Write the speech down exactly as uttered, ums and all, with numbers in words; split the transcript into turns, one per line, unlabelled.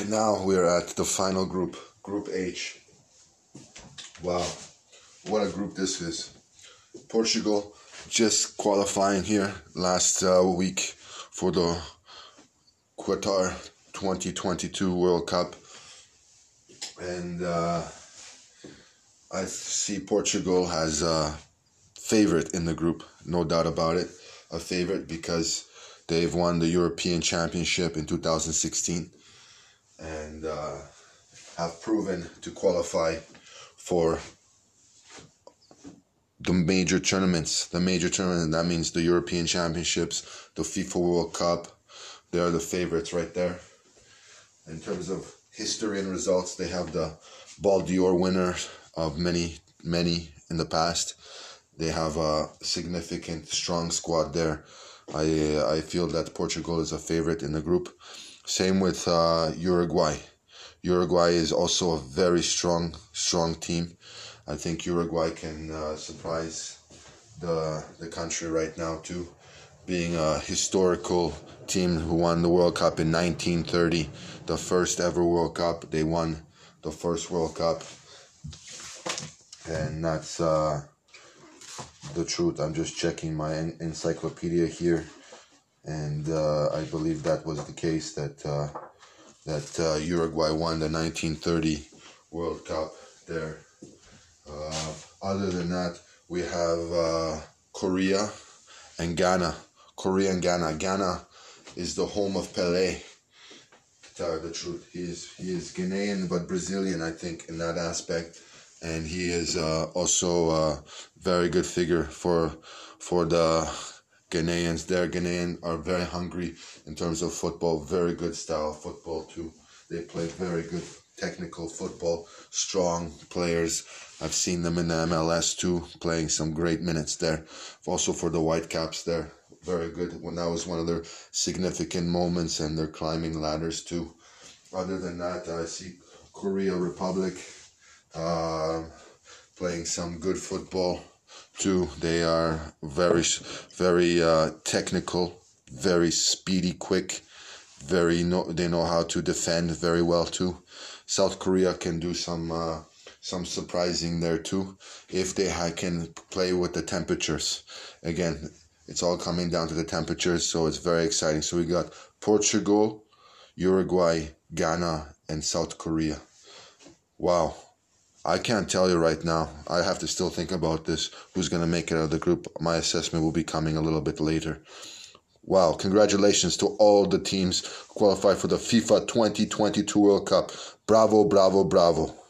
Right now we're at the final group, Group H. Wow, what a group this is. Portugal just qualifying here last uh, week for the Qatar twenty twenty-two World Cup. And uh, I see Portugal as a favorite in the group, no doubt about it. A favorite because they've won the European Championship in two thousand sixteen and uh, have proven to qualify for the major tournaments. The major tournament, and that means the European Championships, the FIFA World Cup. They are the favorites right there. In terms of history and results, they have the Ball d'Or winner of many, many in the past. They have a significant, strong squad there. I I feel that Portugal is a favorite in the group. Same with uh, Uruguay. Uruguay is also a very strong, strong team. I think Uruguay can uh, surprise the the country right now too, being a historical team who won the World Cup in nineteen thirty, the first ever World Cup. They won the first World Cup, and that's uh, the truth. I'm just checking my en- encyclopedia here, and uh, I believe that was the case, that uh, that uh, Uruguay won the nineteen thirty World Cup there. Uh, other than that, we have uh, Korea and Ghana. Korea and Ghana. Ghana is the home of Pelé. To tell you the truth, he is he is Ghanaian but Brazilian, I think, in that aspect, and he is uh, also a very good figure for for the Ghanaians. Their Ghanaians are very hungry in terms of football. Very good style of football too. They play very good technical football. Strong players. I've seen them in the M L S too, playing some great minutes there. Also for the Whitecaps there, very good. When that was one of their significant moments, and they're climbing ladders too. Other than that, I see Korea Republic uh, playing some good football too. They are very, very uh, technical, very speedy, quick. Very know they know how to defend very well too. South Korea can do some. Uh, Some surprising there too, if they ha- can play with the temperatures. Again, it's all coming down to the temperatures, so it's very exciting. So we got Portugal, Uruguay, Ghana, and South Korea. Wow. I can't tell you right now. I have to still think about this. Who's going to make it out of the group? My assessment will be coming a little bit later. Wow, congratulations to all the teams who qualified for the FIFA twenty twenty-two World Cup. Bravo, bravo, bravo.